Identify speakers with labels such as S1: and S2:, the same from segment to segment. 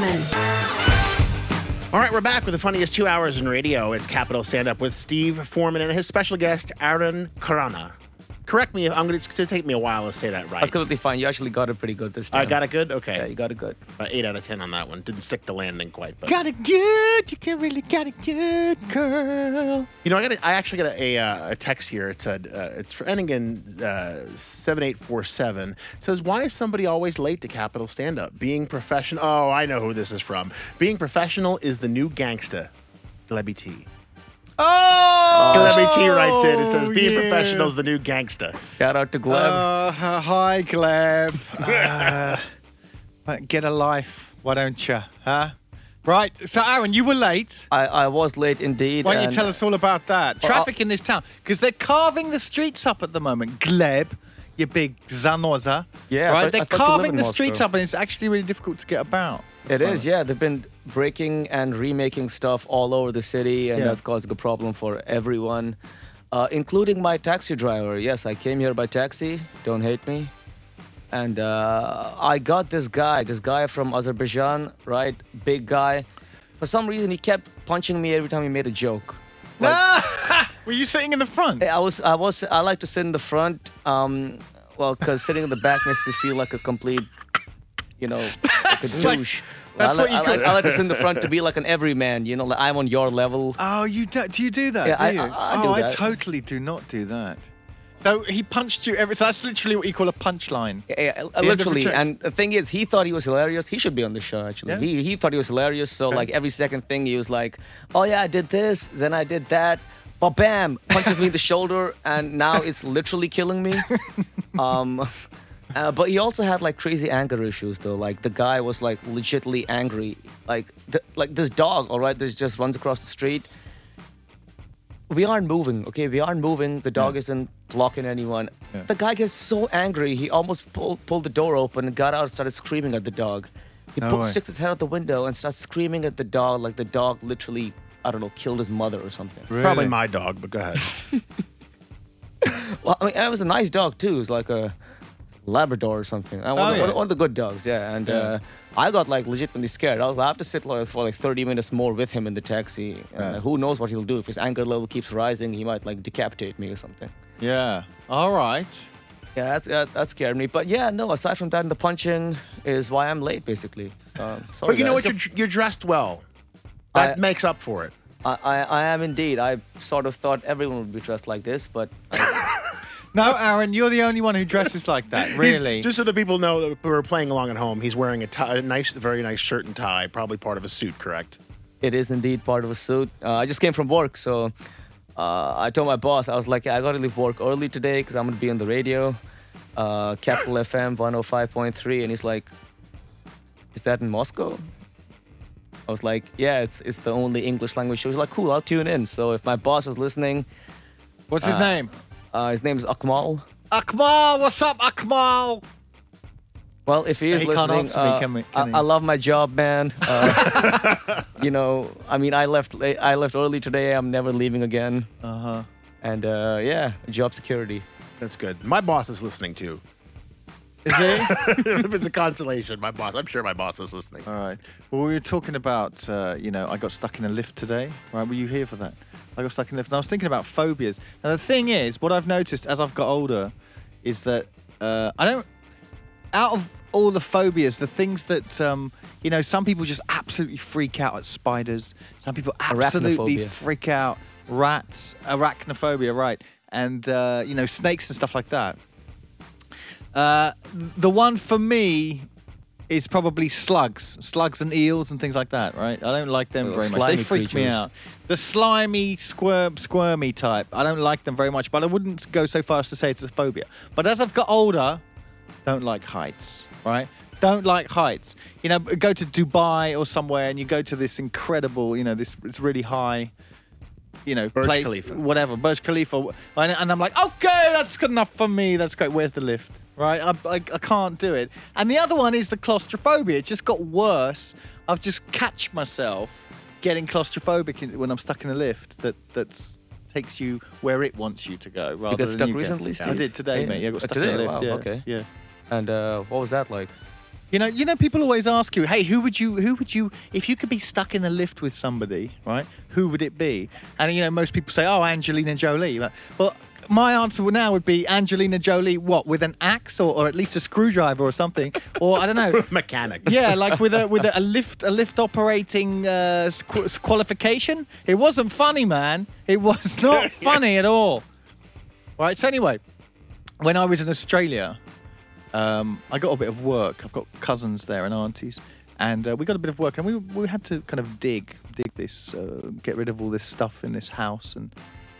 S1: All right, we're back with the funniest 2 hours in radio. It's Capital Stand Up with Steve Foreman and his special guest, Aaron Karana. Correct me if it's going to take me a while to say that right.
S2: That's completely fine. You actually got it pretty good this time.
S1: I got it good? Okay.
S2: Yeah, you got it good.
S1: 8 out of 10 on that one. Didn't stick the landing quite. But.
S3: Got it good. You can really got it good, girl.
S1: You know, I actually got a text here. It said, it's for ending in 7847. It says, why is somebody always late to Capital Stand Up? Being professional. Oh, I know who this is from. Being professional is the new gangsta. Glebby T.
S3: Oh!
S1: Glebby T writes in. It says, being professional is the new gangsta.
S2: Shout out to Gleb.
S3: Hi, Gleb. Get a life, why don't you? Huh? Right. So, Aaron, you were late.
S2: I was late indeed.
S3: Why don't you tell us all about that? Traffic in this town. Because they're carving the streets up at the moment. Gleb, you big zanoza.
S2: Yeah,
S3: right?
S2: but
S3: They're
S2: I thought you live
S3: carving
S2: in
S3: the
S2: Moscow.
S3: streets up, and it's actually really difficult to get about.
S2: It is, yeah. They've been breaking and remaking stuff all over the city, and
S3: Yeah.
S2: that's caused a problem for everyone, including my taxi driver. Yes, I came here by taxi. Don't hate me. And I got this guy from Azerbaijan, right? Big guy. For some reason, he kept punching me every time he made a joke. Like,
S3: Were you sitting in the front?
S2: I like to sit in the front, because sitting in the back makes me feel like a complete, like a douche.
S3: That's what you call-
S2: I like to sit in the front to be like an everyman, like I'm on your level.
S3: Oh, do you do that?
S2: Yeah,
S3: do you?
S2: I do
S3: I
S2: that.
S3: totally do not do that. So he punched you so that's literally what you call a punchline.
S2: Literally,
S3: joke.
S2: and the thing is, he thought he was hilarious. He should be on the show, actually.
S3: Yeah.
S2: He thought he was hilarious, so like every second thing he was like, oh yeah, I did this, then I did that, but bam, punches me in the shoulder, and now it's literally killing me. But he also had like crazy anger issues though. Like the guy was like legitimately angry. Like this dog, all right, that just runs across the street. We aren't moving, okay? We aren't moving. The dog isn't blocking anyone.
S3: Yeah.
S2: The guy gets so angry, he almost pulled the door open and got out and started screaming at the dog. He
S3: No way.
S2: sticks his head out the window and starts screaming at the dog like the dog literally, I don't know, killed his mother or something.
S3: Really?
S1: Probably my dog, but go ahead.
S2: Well, I mean, it was a nice dog too. It was like a Labrador or something. One of the good dogs, yeah. And I got like legitimately scared. I was like, I have to sit for like 30 minutes more with him in the taxi. Who knows what he'll do? If his anger level keeps rising, he might like decapitate me or something.
S3: Yeah. All right.
S2: Yeah, that scared me. But yeah, no, aside from that, the punching is why I'm late, basically. Sorry,
S1: But you know
S2: guys.
S1: what? You're dressed well. That makes up for it.
S2: I am indeed. I sort of thought everyone would be dressed like this, but
S3: No, Aaron, you're the only one who dresses like that. Really?
S1: Just so that people know that who are playing along at home, he's wearing a very nice shirt and tie, probably part of a suit, correct?
S2: it is indeed part of a suit. I just came from work, so I told my boss, I was like, I got to leave work early today because I'm going to be on the radio, Capital FM 105.3, and he's like, is that in Moscow? I was like, yeah, it's the only English language show. He's like, cool, I'll tune in. So if my boss is listening,
S3: What's his name?
S2: his name is Akmal.
S3: Akmal, what's up, Akmal?
S2: Well, if he is
S3: He can't
S2: listening,
S3: answer me, can we- can he?
S2: I love my job, man. I mean, I left early today. I'm never leaving again.
S3: Uh-huh.
S2: And job security.
S1: That's good. My boss is listening too.
S3: Is he?
S1: If it's a consolation, I'm sure my boss is listening.
S3: All right. Well, we were talking about, I got stuck in a lift today. Right? Were you here for that? I got stuck in a lift. And I was thinking about phobias. Now, the thing is, what I've noticed as I've got older is that out of all the phobias, the things that, some people just absolutely freak out at spiders. Some people absolutely
S2: Arachnophobia.
S3: freak out rats, arachnophobia, right. And, snakes and stuff like that. The one for me is probably slugs and eels and things like that, right? I don't like them very much. They
S2: slimy
S3: freak me
S2: creatures.
S3: out. The slimy, squirmy type, I don't like them very much, but I wouldn't go so far as to say it's a phobia. But as I've got older, don't like heights, right? Don't like heights. Go to Dubai or somewhere and you go to this incredible, it's really high,
S1: Burj
S3: place,
S1: Khalifa.
S3: whatever, Burj Khalifa. And I'm like, okay, that's good enough for me. That's great. Where's the lift? Right? I can't do it. And the other one is the claustrophobia. It just got worse. I've just catch myself getting claustrophobic when I'm stuck in a lift that takes you where it wants you to go. Rather
S2: You got
S3: than
S2: stuck
S3: you
S2: recently,
S3: I
S2: Steve?
S3: did today,
S2: Yeah.
S3: mate. Yeah, I got stuck
S2: Today?
S3: in a lift.
S2: Wow,
S3: yeah.
S2: okay.
S3: Yeah.
S2: And what was that like?
S3: You know, people always ask you, hey, who would you, if you could be stuck in a lift with somebody, right? Who would it be? And you know, most people say, oh, Angelina Jolie. Well, my answer now would be Angelina Jolie. What, with an axe or at least a screwdriver or something, or I don't know,
S1: Mechanic.
S3: Yeah, like with a lift operating qualification. It wasn't funny, man. It was not funny at all. Right. So anyway, when I was in Australia. I got a bit of work. I've got cousins there and aunties, and we got a bit of work, and we had to kind of dig this, get rid of all this stuff in this house, and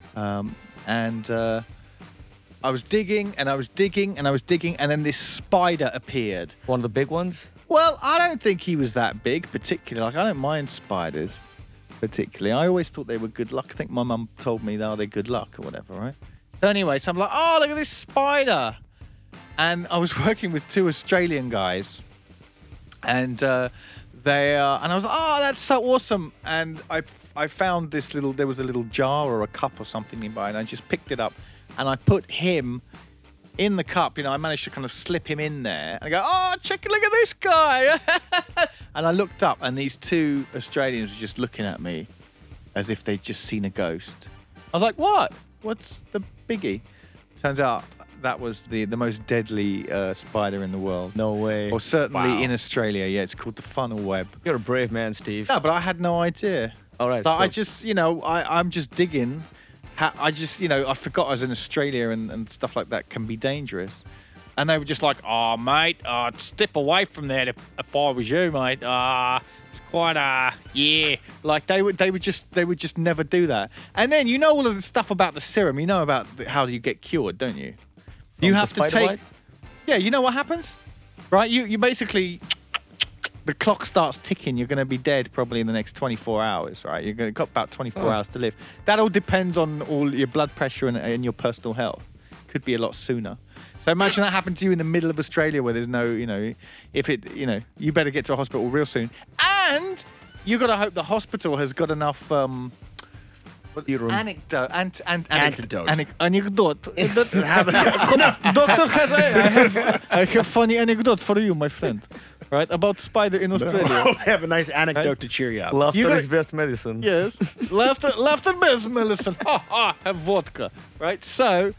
S3: I was digging, and I was digging, and I was digging, and then this spider appeared.
S2: One of the big ones?
S3: Well, I don't think he was that big, particularly. Like, I don't mind spiders, particularly. I always thought they were good luck. I think my mum told me, they're good luck or whatever, right? So anyway, so I'm like, oh, look at this spider. And I was working with two Australian guys, and and I was like, oh, that's so awesome. And I found there was a little jar or a cup or something nearby, and I just picked it up, and I put him in the cup. You know, I managed to kind of slip him in there. And I go, oh, look at this guy. And I looked up, and these two Australians were just looking at me as if they'd just seen a ghost. I was like, what? What's the biggie? Turns out that was the most deadly spider in the world.
S2: No way.
S3: Or certainly
S1: Wow.
S3: in Australia. Yeah, it's called the funnel web.
S2: You're a brave man, Steve.
S3: No, but I had no idea.
S2: All right.
S3: Like,
S2: so-
S3: I just, you know, I'm just digging. I just, you know, I forgot I was in Australia and stuff like that can be dangerous. And they were just like, oh, mate, step away from that if I was you, mate. It's quite, yeah. Like, they would just never do that. And then, you know all of the stuff about the serum. You know about how you get cured, don't you? You
S2: From
S3: have
S2: the
S3: to
S2: spider
S3: take...
S2: bite?
S3: Yeah, you know what happens? Right? You basically... The clock starts ticking. You're going to be dead probably in the next 24 hours, right? You're going to got about 24 hours to live. That all depends on all your blood pressure and your personal health. Could be a lot sooner. So imagine that happened to you in the middle of Australia where there's no, you know, you better get to a hospital real soon. And you got to hope the hospital has got enough
S2: Serum.
S3: anecdote.
S1: Antidote.
S3: Anecdote. Doctor I have funny anecdote for you, my friend. Right? About spider in Australia.
S1: I have a nice anecdote to cheer you up.
S2: Laughter
S3: You
S2: is
S3: gotta-
S2: best medicine.
S3: Yes. Laughter best medicine. Have vodka. Right? So,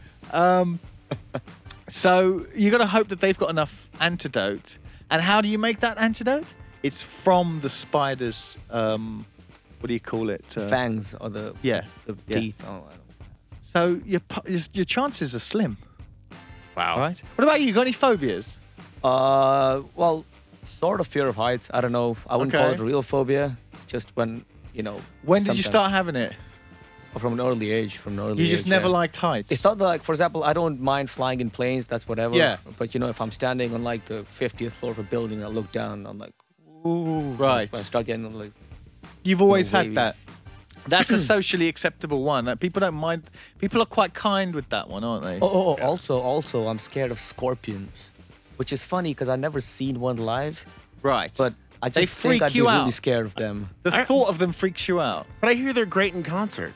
S3: so you got to hope that they've got enough antidote. And how do you make that antidote? It's from the spider's, what do you call it?
S2: Fangs or the
S3: Yeah.
S2: the
S3: Yeah.
S2: teeth. Oh, I don't know.
S3: So your chances are slim,
S1: Wow.
S3: right? What about you? You got any phobias?
S2: Well, sort of fear of heights. I don't know. I wouldn't call
S3: Okay.
S2: it real phobia. Just when, you know.
S3: When did you
S2: sometimes-
S3: start having it?
S2: From an early age.
S3: You just never
S2: yeah.
S3: liked heights.
S2: It's not like, for example, I don't mind flying in planes. That's whatever.
S3: Yeah.
S2: But you know, if I'm standing on like the 50th floor of a building, I look down. I'm like,
S3: Ooh, right.
S2: I start getting like.
S3: You've always had
S2: wavy.
S3: that. That's a socially acceptable one. People don't mind. People are quite kind with that one, aren't they?
S2: Oh, also, I'm scared of scorpions, which is funny because I've never seen one live.
S3: Right.
S2: But I just
S3: They
S2: think
S3: freak
S2: I'd
S3: you
S2: be
S3: out.
S2: really scared of them.
S3: the thought of them freaks you out.
S1: But I hear they're great in concert.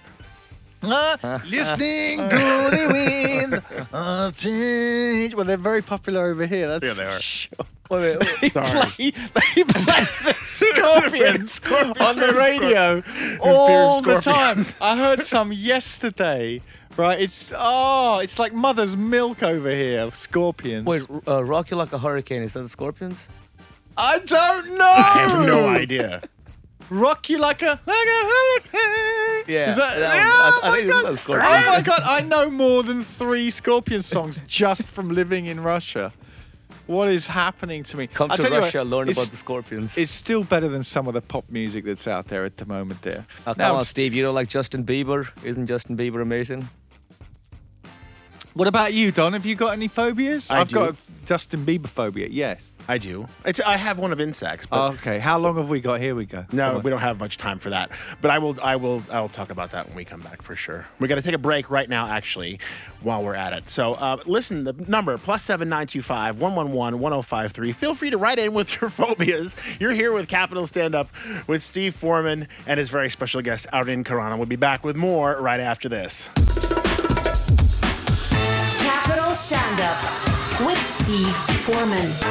S3: Listening to the wind of change. Well, they're very popular over here. That's
S1: Yeah, they are.
S3: Sure.
S2: Wait.
S3: They
S1: Sorry.
S3: play the Scorpions on the radio all the time. I heard some yesterday. Right, it's like mother's milk over here. Scorpions.
S2: Wait, Rock You Like a Hurricane, is that the Scorpions?
S3: I don't know.
S1: I have no idea.
S3: Rock you like a hurricane.
S2: Yeah,
S3: Is that,
S2: that
S3: oh
S2: one. I
S3: my
S2: think it's
S3: God.
S2: not Scorpions.
S3: Oh my God, I know more than 3 Scorpion songs just from living in Russia. What is happening to me?
S2: Come
S3: I'll
S2: to
S3: tell you what,
S2: Russia, learn
S3: it's-
S2: about the Scorpions.
S3: It's still better than some of the pop music that's out there at the moment there.
S2: Oh,
S3: Now,
S2: come on, Steve. You don't like Justin Bieber? Isn't Justin Bieber amazing?
S3: what about you, Don? Have you got any phobias?
S1: I
S3: I've
S1: do.
S3: got a Justin Bieber phobia, yes.
S1: I do. I have one of insects, but
S3: Okay, how long have we got? Here we go.
S1: no,
S3: Come on.
S1: we don't have much time for that. But I will talk about that when we come back for sure. We're gonna take a break right now, actually, while we're at it. So listen, the number +7 925 111 1053. Feel free to write in with your phobias. You're here with Capital Stand Up with Steve Foreman and his very special guest, Arun Karana. We'll be back with more right after this.
S4: Capital Stand Up with Steve Foreman.